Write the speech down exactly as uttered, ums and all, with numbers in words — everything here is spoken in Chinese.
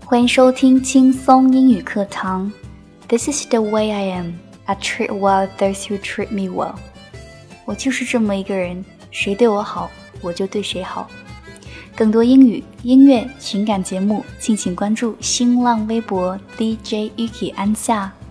欢迎收听轻松英语课堂 This is the way I am. I treat well those who treat me well. 我就是这么一个人，谁对我好，我就对谁好。更多英语、音乐、情感节目，敬请关注新浪微博 D J Yuki 安夏。